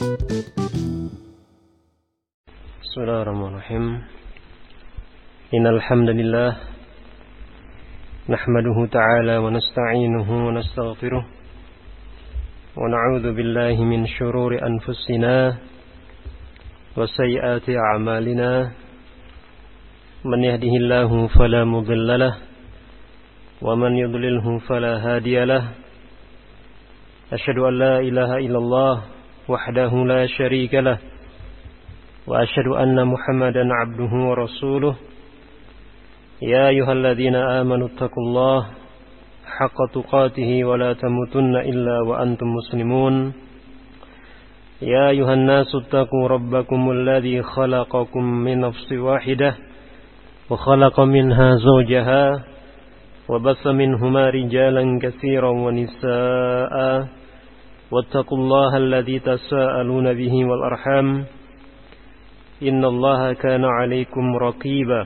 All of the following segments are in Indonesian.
Bismillahirrahmanirrahim. Innal hamdalillah nahmaduhu ta'ala wa nasta'inuhu wa nastaghfiruh wa na'udzu billahi min shururi anfusina wa sayyiati a'malina. Man yahdihillahu fala mudilla lahu wa man yudlilhu fala hadiya lahu. Asyhadu an la ilaha illallah wahdahu la syarika lahu wa asyhadu anna Muhammadan 'abduhu wa rasuluh. Ya ayyuhalladzina amanu taqullaha haqqa tuqatih wa la tamutunna illa wa antum muslimun. Ya ayyuhan nasu taqu rabbakumul ladzi khalaqakum min nafsin wahidah wa khalaqa minha zawjaha wa bassa minhuma rijalan katsiran wa nisaa'a wattaqullaha alladzi tasaaluna bihi wal arham. Innallaha kana 'alaikum raqiba.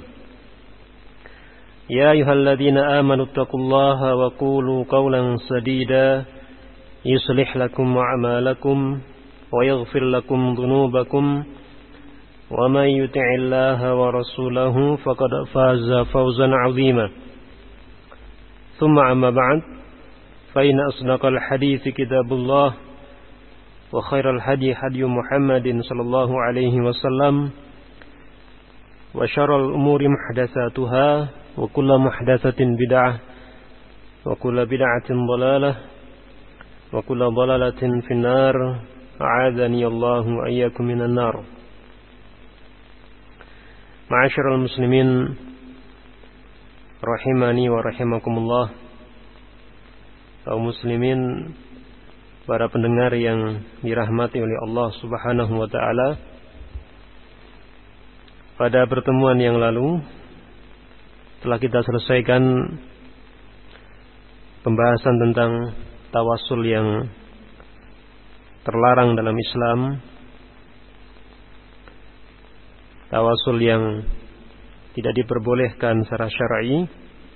Ya ayyuhalladzina amanu taqullaha wa qulu qawlan sadida yuslih lakum a'malakum wa yaghfir lakum dhunubakum wa man yuti'illaha wa rasulahu faqad faza fawzan 'azima. Thumma amma ba'd, fa inna asdaqal hadithi kitabullah wa khairal hadi hadi Muhammadin sallallahu alaihi wasallam wa syarrul umuri muhdatsatuha wa kullu muhdatsatin bid'ah wa kullu bid'atin dhalalah wa kullu dhalalatin finnar. A'adzani Allahu wa iyyakum minan nar. Ma'asyiral muslimin rahimani wa rahimakumullah. Kaum muslimin, para pendengar yang dirahmati oleh Allah Subhanahu wa taala. Pada pertemuan yang lalu telah kita selesaikan pembahasan tentang tawassul yang terlarang dalam Islam. Tawassul yang tidak diperbolehkan secara syar'i.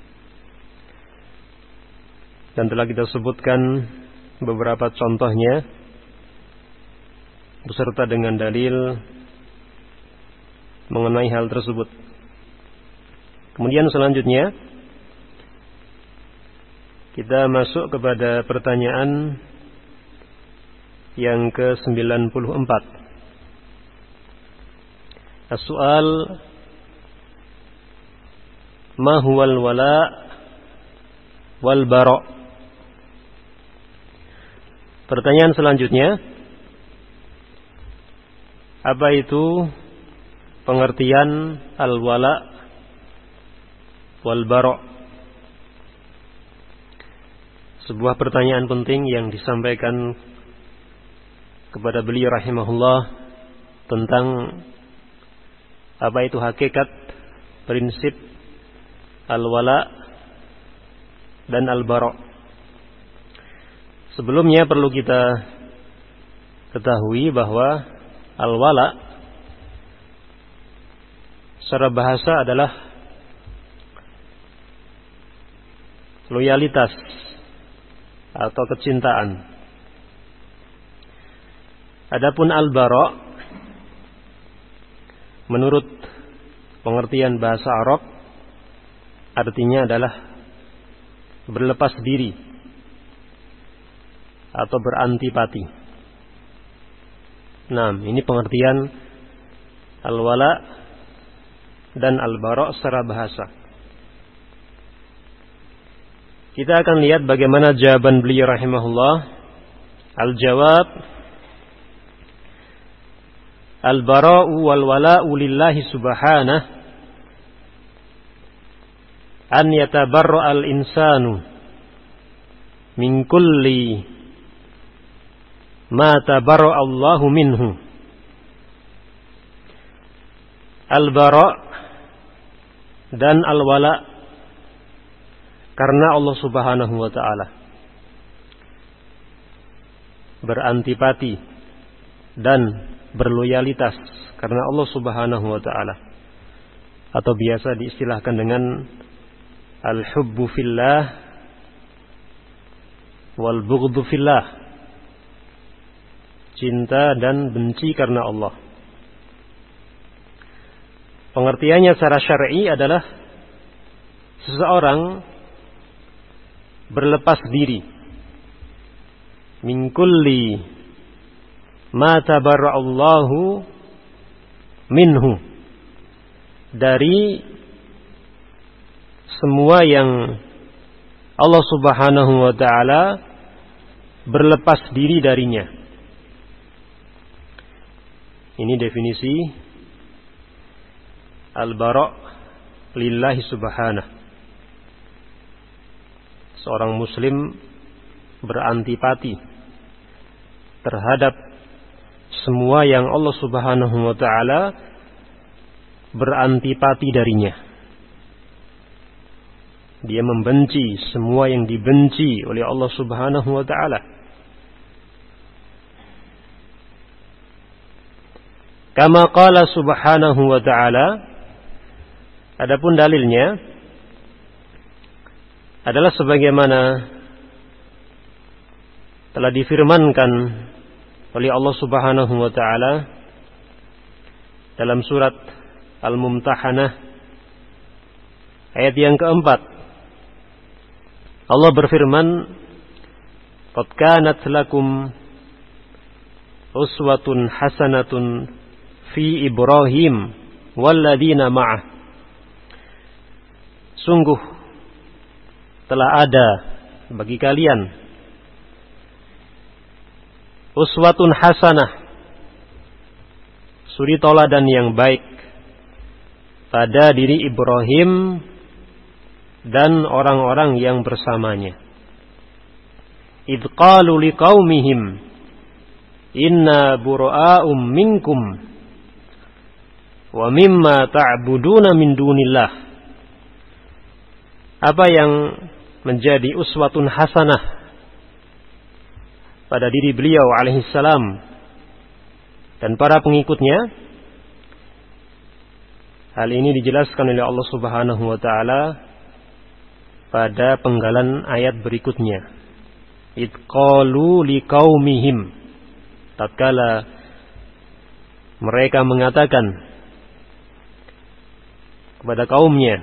Dan telah kita sebutkan beberapa contohnya beserta dengan dalil mengenai hal tersebut. Kemudian selanjutnya kita masuk kepada pertanyaan yang ke-94. As-su'al ma huwal wala wal bara'. Pertanyaan selanjutnya, apa itu pengertian al-wala wal bara'? Sebuah pertanyaan penting yang disampaikan kepada beliau rahimahullah tentang apa itu hakikat prinsip al-wala dan al-bara'. Sebelumnya perlu kita ketahui bahwa al-wala secara bahasa adalah loyalitas atau kecintaan. Adapun al-bara' menurut pengertian bahasa Arab artinya adalah berlepas diri atau berantipati. Nah, ini pengertian al-wala dan al-bara' secara bahasa. Kita akan lihat bagaimana jawaban beliau rahimahullah. Al-jawab, al-bara'u wal wala'u lillahi subhanahu an yatabarra al-insanu min kulli ma tabarra Allahu minhu. Al-bara' dan al-wala karena Allah Subhanahu wa taala. Berantipati dan berloyalitas karena Allah Subhanahu wa taala. Atau biasa diistilahkan dengan al-hubbu fillah wal bughdhu fillah. cinta dan benci karena Allah. Pengertiannya secara syar'i adalah seseorang berlepas diri min kulli ma tabarra'allahu minhu, dari semua yang Allah Subhanahu wa ta'ala berlepas diri darinya. Ini definisi al-bara' lillahi subhanahu. Seorang muslim berantipati terhadap semua yang Allah Subhanahu wa ta'ala berantipati darinya. Dia membenci semua yang dibenci oleh Allah Subhanahu wa ta'ala. Kama qala Subhanahu wa ta'ala, adapun dalilnya adalah sebagaimana telah difirmankan oleh Allah Subhanahu wa ta'ala dalam surat Al-Mumtahanah ayat yang keempat. Allah berfirman, "Qad kanat lakum uswatun hasanatun fi Ibrahim walladzina ma'ah." Sungguh telah ada bagi kalian uswatun hasanah, suri tauladan yang baik pada diri Ibrahim dan orang-orang yang bersamanya. Idh qalu liqaumihim inna bura'um minkum wa mimma ta'buduna min dunillah. Apa yang menjadi uswatun hasanah pada diri beliau alaihissalam dan para pengikutnya? Hal ini dijelaskan oleh Allah Subhanahu wa ta'ala pada penggalan ayat berikutnya. Idh qalu liqaumihim, tatkala mereka mengatakan kepada kaumnya,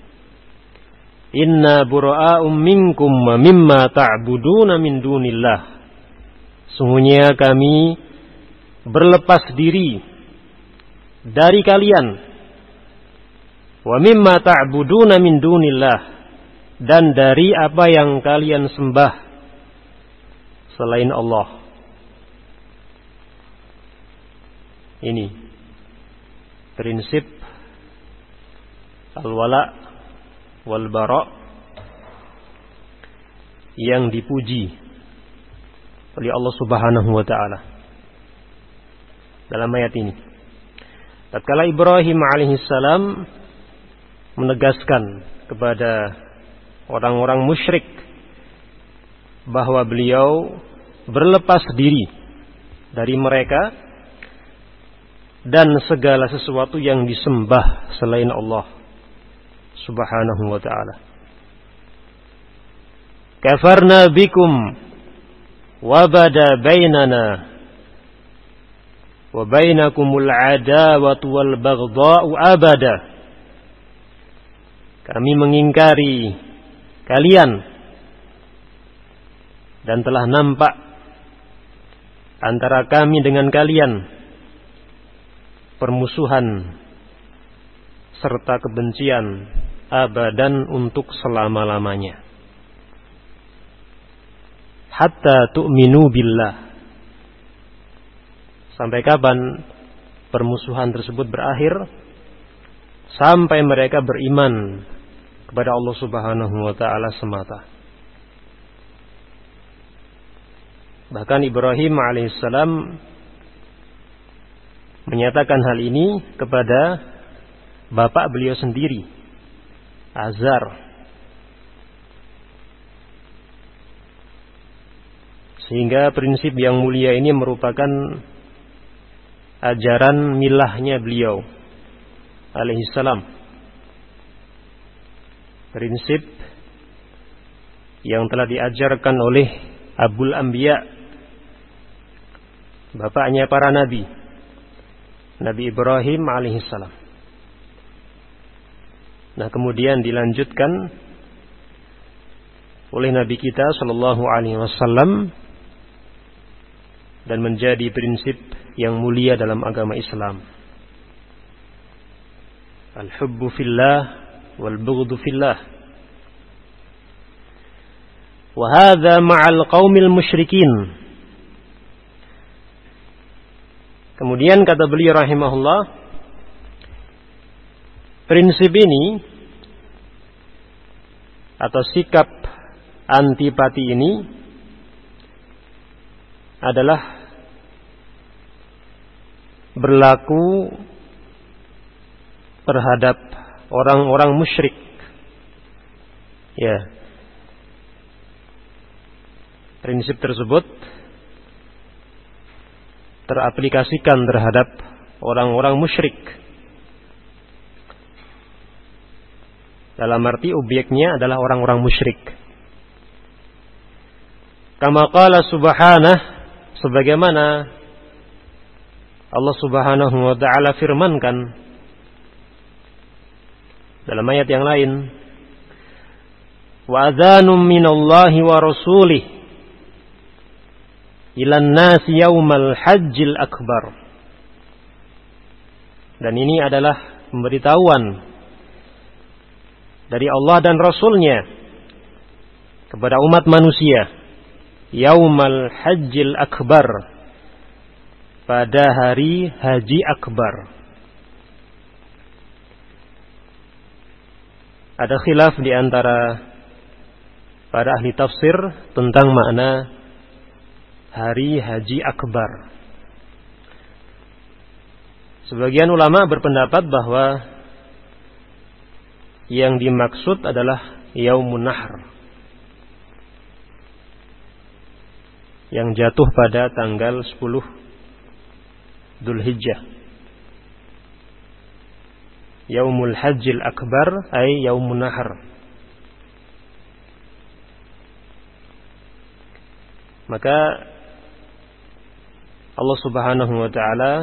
inna bura'um minkum wa mimma ta'buduna min dunillah. Sungguhnya kami berlepas diri dari kalian, wa mimma ta'buduna min dunillah, dan dari apa yang kalian sembah selain Allah. Ini prinsip al-wala wal bara' yang dipuji oleh Allah Subhanahu wa ta'ala dalam ayat ini. Tatkala Ibrahim alaihissalam menegaskan kepada orang-orang musyrik bahwa beliau berlepas diri dari mereka dan segala sesuatu yang disembah selain Allah Subhanahu wa ta'ala. Kafarna bikum wa bada bainana wa bainakumul adawatu wal baghdha'u abada. Kami mengingkari kalian dan telah nampak antara kami dengan kalian permusuhan serta kebencian abadan untuk selama-lamanya. Hatta tu'minu billah. Sampai kapan permusuhan tersebut berakhir? Sampai mereka beriman kepada Allah Subhanahu wa ta'ala semata. Bahkan Ibrahim alaihissalam menyatakan hal ini kepada bapak beliau sendiri, Azar. Sehingga prinsip yang mulia ini merupakan ajaran milahnya beliau alaihissalam. Prinsip yang telah diajarkan oleh Abul Anbiya bapaknya para nabi, Nabi Ibrahim alaihissalam. Nah, kemudian dilanjutkan oleh Nabi kita sallallahu alaihi wasallam dan menjadi prinsip yang mulia dalam agama Islam. Al-hubbu fillah wal bughdhu fillah. Wa hadza ma'al qaumil musyrikin. Kemudian kata beliau rahimahullah, prinsip ini atau sikap antipati ini adalah berlaku terhadap orang-orang musyrik. Ya. Prinsip tersebut teraplikasikan terhadap orang-orang musyrik. Dalam arti objeknya adalah orang-orang musyrik. Kama qala subhanahu, sebagaimana Allah Subhanahu wa taala firmankan dalam ayat yang lain, wa adzanum minallahi wa rasulih ilan nasi yaumal hajjil akbar. Dan ini adalah pemberitahuan dari Allah dan Rasulnya kepada umat manusia yaumal hajjil akbar, pada hari haji akbar. Ada khilaf di antara para ahli tafsir tentang makna hari haji akbar. Sebagian ulama berpendapat bahwa yang dimaksud adalah Yaumun Nahr, yang jatuh pada tanggal 10 Dzulhijjah. Yaumul Hajjil Akbar ay Yaumun Nahr. Maka Allah Subhanahu wa taala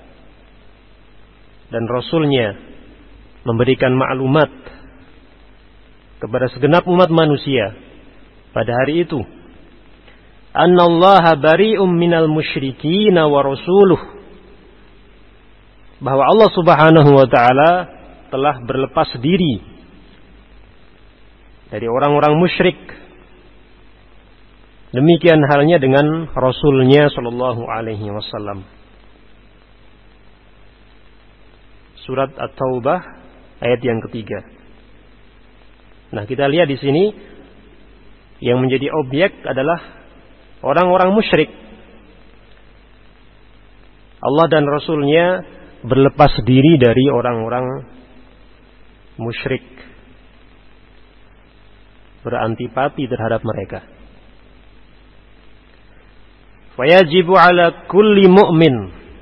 dan Rasulnya memberikan maklumat kepada segenap umat manusia pada hari itu, annallaha bari'um minal musyrikin wa rasuluh, bahwa Allah Subhanahu wa taala telah berlepas diri dari orang-orang musyrik. Demikian halnya dengan Rasulnya sallallahu alaihi wasallam. Surat At-Taubah ayat yang ketiga. Nah, kita lihat di sini yang menjadi objek adalah orang-orang musyrik. Allah dan Rasulnya berlepas diri dari orang-orang musyrik, berantipati terhadap mereka. Fayajibu ala kulli mu'min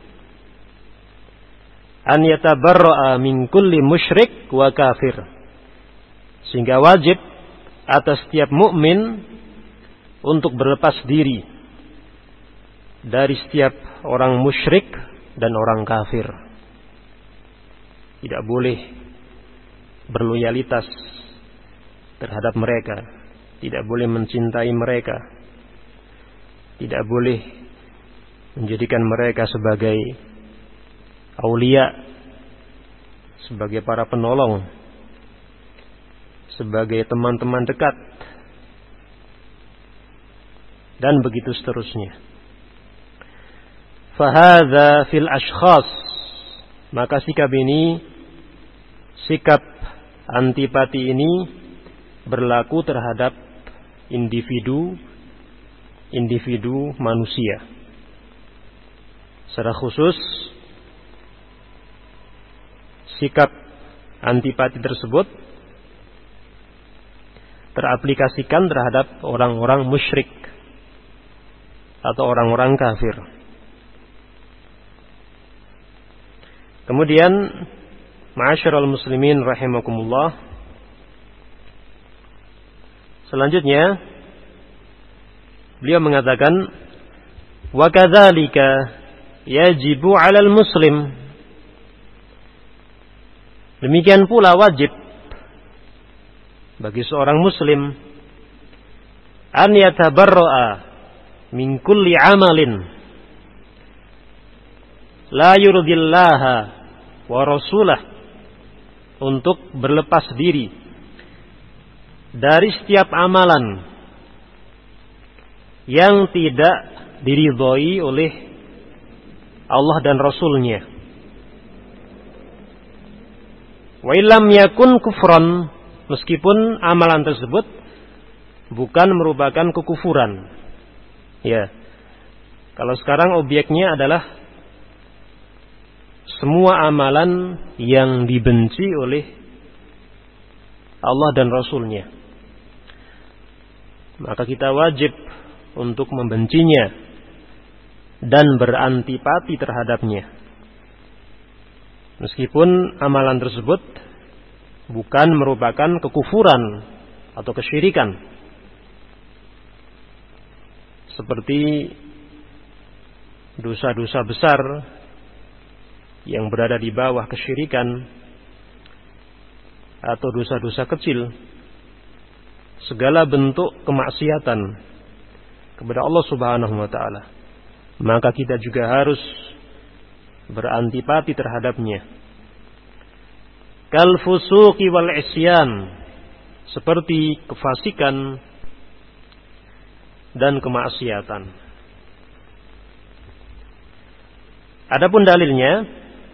an yatabarra'a min kulli musyrik wa kafir. Sehingga wajib atas setiap mukmin untuk berlepas diri dari setiap orang musyrik dan orang kafir. Tidak boleh berloyalitas terhadap mereka, tidak boleh mencintai mereka, tidak boleh menjadikan mereka sebagai aulia, sebagai para penolong, sebagai teman-teman dekat, dan begitu seterusnya. Fahadha fil ashkhas, maka sikap ini, sikap antipati ini berlaku terhadap individu manusia. Secara khusus, sikap antipati tersebut teraplikasikan terhadap orang-orang musyrik atau orang-orang kafir. Kemudian, ma'asyiral muslimin rahimakumullah, selanjutnya beliau mengatakan, wa kadzalika yajibu 'alal muslim. Demikian pula wajib bagi seorang muslim an yatabarra'a min kulli 'amalin la yurdillaha wa rasulah, untuk berlepas diri dari setiap amalan yang tidak diridhoi oleh Allah dan Rasulnya. Wa illam yakun kufran, meskipun amalan tersebut bukan merupakan kekufuran. Ya. Kalau sekarang objeknya adalah semua amalan yang dibenci oleh Allah dan Rasulnya, maka kita wajib untuk membencinya dan berantipati terhadapnya, meskipun amalan tersebut bukan merupakan kekufuran atau kesyirikan, seperti dosa-dosa besar yang berada di bawah kesyirikan atau dosa-dosa kecil, segala bentuk kemaksiatan kepada Allah Subhanahu wa taala, maka kita juga harus berantipati terhadapnya. Kal fusuqi wal isyan, seperti kefasikan dan kemaksiatan. Adapun dalilnya,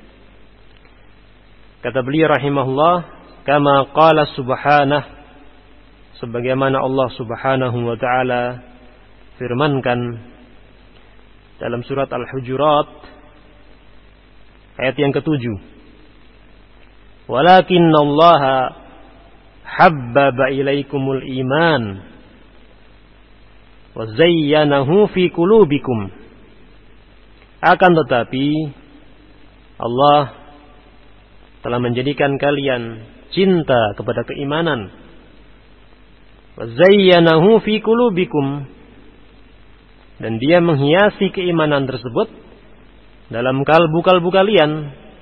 kata beliau rahimahullah, kama qala subhanah, sebagaimana Allah Subhanahu wa taala firmankan dalam surat Al-Hujurat ayat yang ke-7. Walakinnallaha habbaba ilaikumul iman wa zayyanahu fi qulubikum. Akan tetapi Allah telah menjadikan kalian cinta kepada keimanan. Wa zayyanahu fi qulubikum, dan Dia menghiasi keimanan tersebut dalam kalbu-kalbu kalian.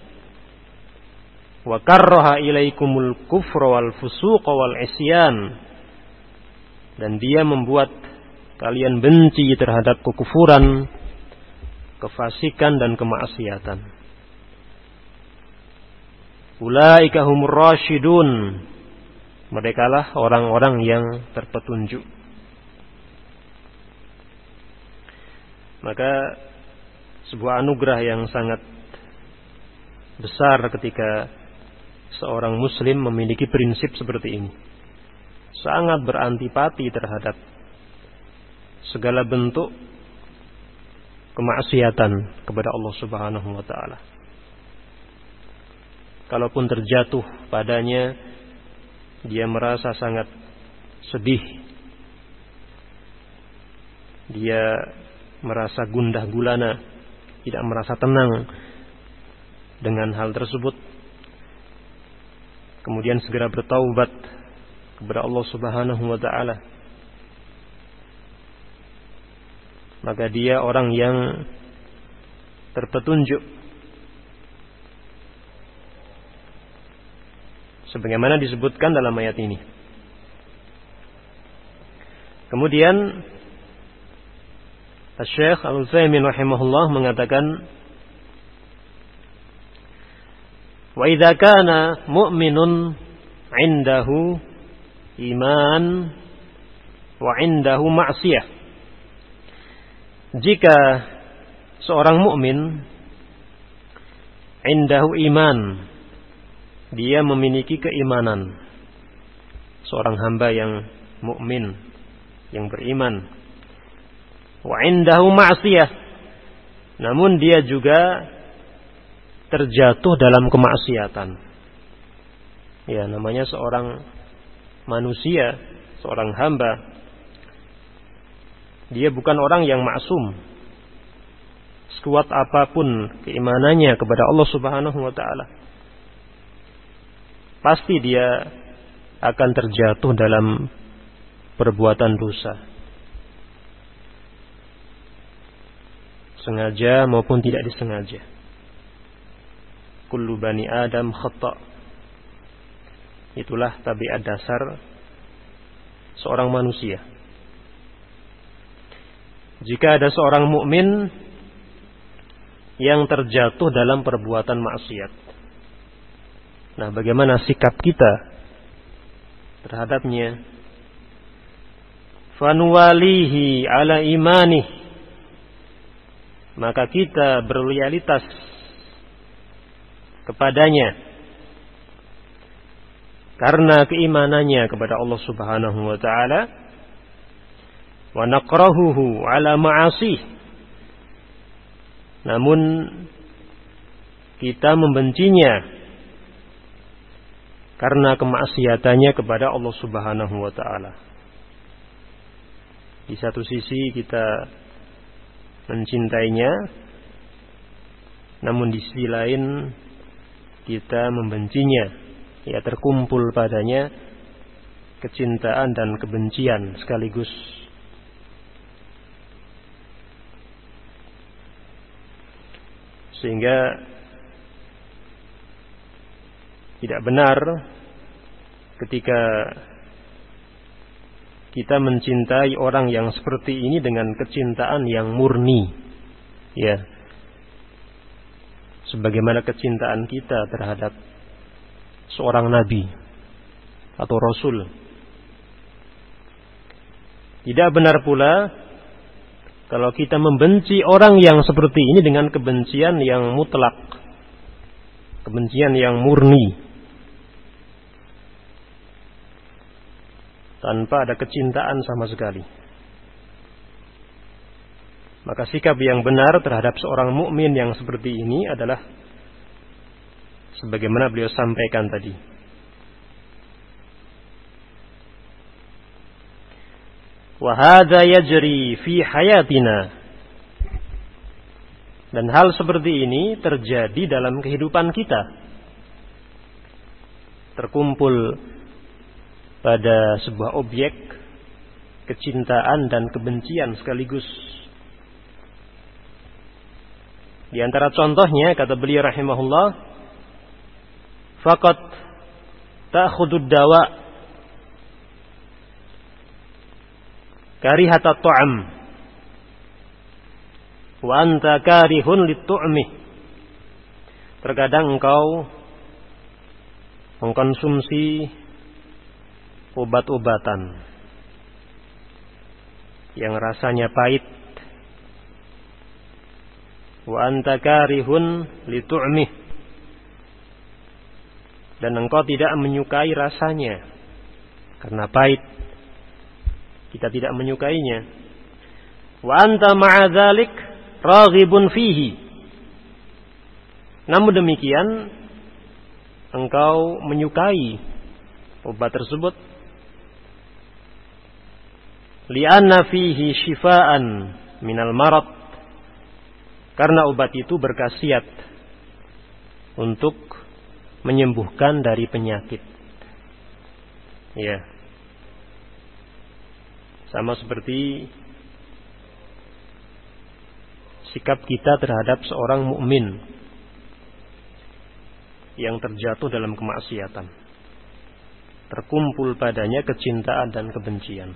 Wa karraha ilaikumul kufra wal fusuqa wal isyan, dan Dia membuat kalian benci terhadap kekufuran, kefasikan dan kemaksiatan. Ulaika humur rasyidun, merekalah orang-orang yang terpetunjuk. Maka sebuah anugerah yang sangat besar ketika seorang muslim memiliki prinsip seperti ini. Sangat berantipati terhadap segala bentuk kemaksiatan kepada Allah Subhanahu wa taala. Kalaupun terjatuh padanya, dia merasa sangat sedih. Dia merasa gundah gulana, tidak merasa tenang dengan hal tersebut. Kemudian segera bertaubat kepada Allah Subhanahu wa taala. Maka dia orang yang terpetunjuk, sebagaimana disebutkan dalam ayat ini. Kemudian Syekh Al-Utsaimin rahimahullah mengatakan, wa idza kana mu'minun 'indahu iman wa 'indahu ma'siyah. Jika seorang mukmin indahu iman, dia memiliki keimanan, seorang hamba yang mukmin, yang beriman, wa indahu ma'siyah, namun dia juga terjatuh dalam kemaksiatan. Ya, namanya seorang manusia, seorang hamba, dia bukan orang yang maksum. Sekuat apapun keimanannya kepada Allah Subhanahu wa taala, pasti dia akan terjatuh dalam perbuatan dosa. sengaja maupun tidak disengaja. Kullu bani Adam khata'. Itulah tabiat dasar seorang manusia. Jika ada seorang mukmin yang terjatuh dalam perbuatan maksiat, nah, bagaimana sikap kita terhadapnya? Fanuwalihi ala imanih, maka kita berloyalitas kepadanya karena keimanannya kepada Allah Subhanahu wa taala. Wa naqrahuhu ala ma'asih, namun kita membencinya karena kemaksiatannya kepada Allah Subhanahu wa taala. Di satu sisi kita mencintainya, namun di sisi lain kita membencinya. Ya, terkumpul padanya kecintaan dan kebencian sekaligus. Sehingga tidak benar ketika kita mencintai orang yang seperti ini dengan kecintaan yang murni, ya, sebagaimana kecintaan kita terhadap seorang nabi atau rasul. Tidak benar pula kalau kita membenci orang yang seperti ini dengan kebencian yang mutlak, kebencian yang murni, tanpa ada kecintaan sama sekali. Maka sikap yang benar terhadap seorang mukmin yang seperti ini adalah sebagaimana beliau sampaikan tadi. Wa hadza yajri fi hayatina. Dan hal seperti ini terjadi dalam kehidupan kita. Terkumpul pada sebuah objek kecintaan dan kebencian sekaligus. Di antara contohnya, kata beliau rahimahullah, faqat ta'khudud dawa karihata ta'am wa anta karihun lit-tu'mi. Terkadang engkau mengkonsumsi obat-obatan yang rasanya pahit, wa anta karihun lit-tu'mi, dan engkau tidak menyukai rasanya karena pahit. Kita tidak menyukainya. Wa anta ma'a dzalik raghibun fihi. Namun demikian engkau menyukai obat tersebut. Li'anna fihi shifaan minal marad. Karena obat itu berkhasiat untuk menyembuhkan dari penyakit. Ya. Sama seperti sikap kita terhadap seorang mukmin yang terjatuh dalam kemaksiatan. Terkumpul padanya kecintaan dan kebencian.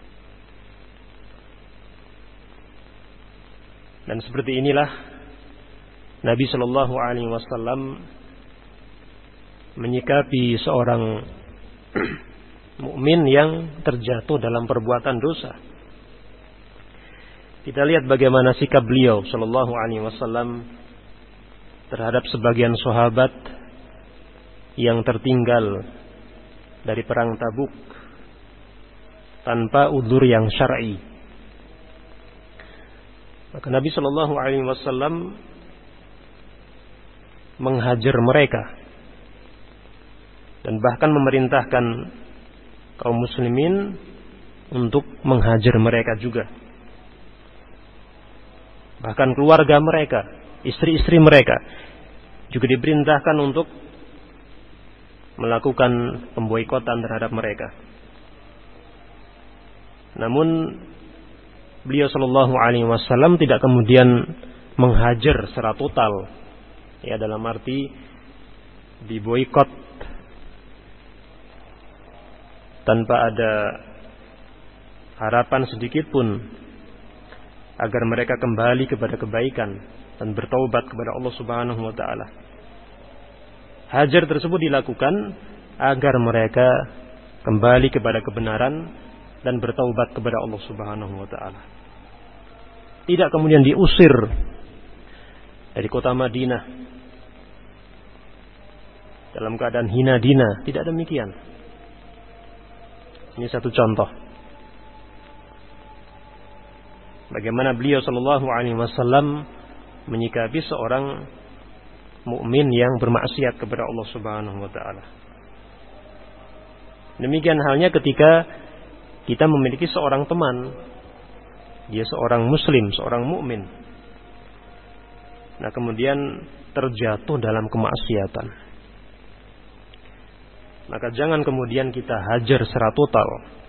Dan seperti inilah Nabi Shallallahu Alaihi Wasallam menyikapi seorang mukmin yang terjatuh dalam perbuatan dosa. Kita lihat bagaimana sikap beliau Shallallahu Alaihi Wasallam terhadap sebagian sahabat yang tertinggal dari perang Tabuk tanpa udzur yang syar'i. Maka Nabi Shallallahu Alaihi Wasallam menghajar mereka dan bahkan memerintahkan kaum muslimin untuk menghajar mereka juga. Bahkan keluarga mereka, istri-istri mereka juga diperintahkan untuk melakukan pemboikotan terhadap mereka. Namun beliau Shallallahu Alaihi Wasallam tidak kemudian menghajar secara total, ya, dalam arti diboikot tanpa ada harapan sedikit pun agar mereka kembali kepada kebaikan dan bertaubat kepada Allah Subhanahu wa taala. Hajar tersebut dilakukan agar mereka kembali kepada kebenaran dan bertaubat kepada Allah Subhanahu wa taala. Tidak kemudian diusir dari kota Madinah dalam keadaan hina dina, tidak demikian. Ini satu contoh bagaimana beliau sallallahu alaihi wasallam menyikapi seorang mukmin yang bermaksiat kepada Allah Subhanahu wa taala. Demikian halnya ketika kita memiliki seorang teman, dia seorang muslim, seorang mukmin. Nah, kemudian terjatuh dalam kemaksiatan. Maka jangan kemudian kita hajar secara total.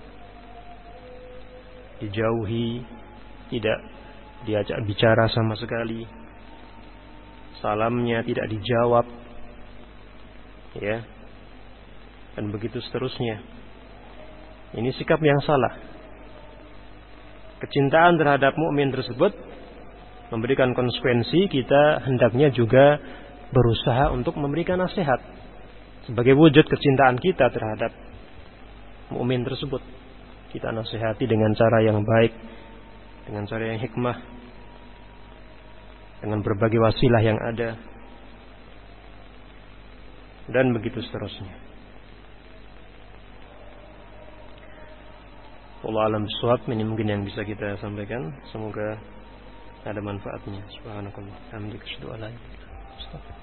Dijauhi, tidak diajak bicara sama sekali. Salamnya tidak dijawab. Ya. Dan begitu seterusnya. Ini sikap yang salah. Kecintaan terhadap mukmin tersebut memberikan konsekuensi, kita hendaknya juga berusaha untuk memberikan nasihat sebagai wujud kecintaan kita terhadap mukmin tersebut. Kita nasihati dengan cara yang baik, dengan cara yang hikmah, dengan berbagai wasilah yang ada, dan begitu seterusnya. Allah alam bisawab. Ini mungkin yang bisa kita sampaikan. Semoga ada manfaatnya. Subhanakallah. Alhamdulillah.